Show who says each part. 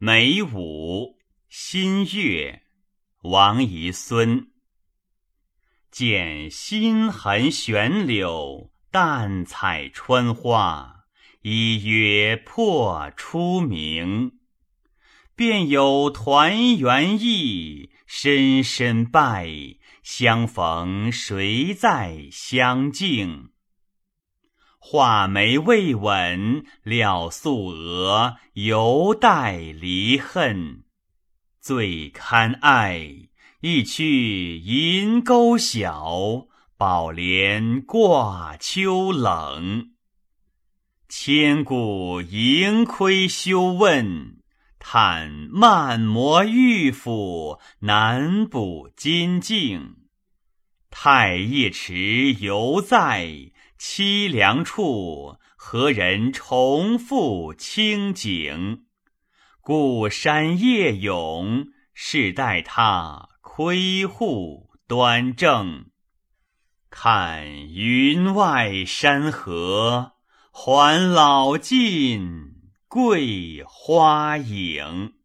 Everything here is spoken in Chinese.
Speaker 1: 梅武，新月，王遗孙。见新痕悬柳，淡彩春花，一约破初明。便有团圆意，深深拜，相逢谁在相敬？画眉未吻，了素娥，犹带离恨。最堪爱，一曲银钩晓，宝帘挂秋冷。千古盈亏休问，叹漫磨玉斧，难补金镜。太液池犹在，凄凉处，何人重复清景？故山夜咏，是待他窥户端正。看云外山河，还老尽桂花影。